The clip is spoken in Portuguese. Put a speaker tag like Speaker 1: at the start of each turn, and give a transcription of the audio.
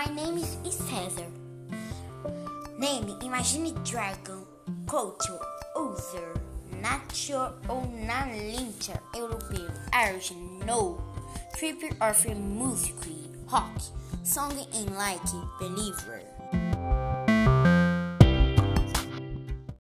Speaker 1: My name is Cesar. Name: Imagine Dragon. Culture: user, nature ou na língua europeu. Origin: no. Trip of music: rock. Song in like believer.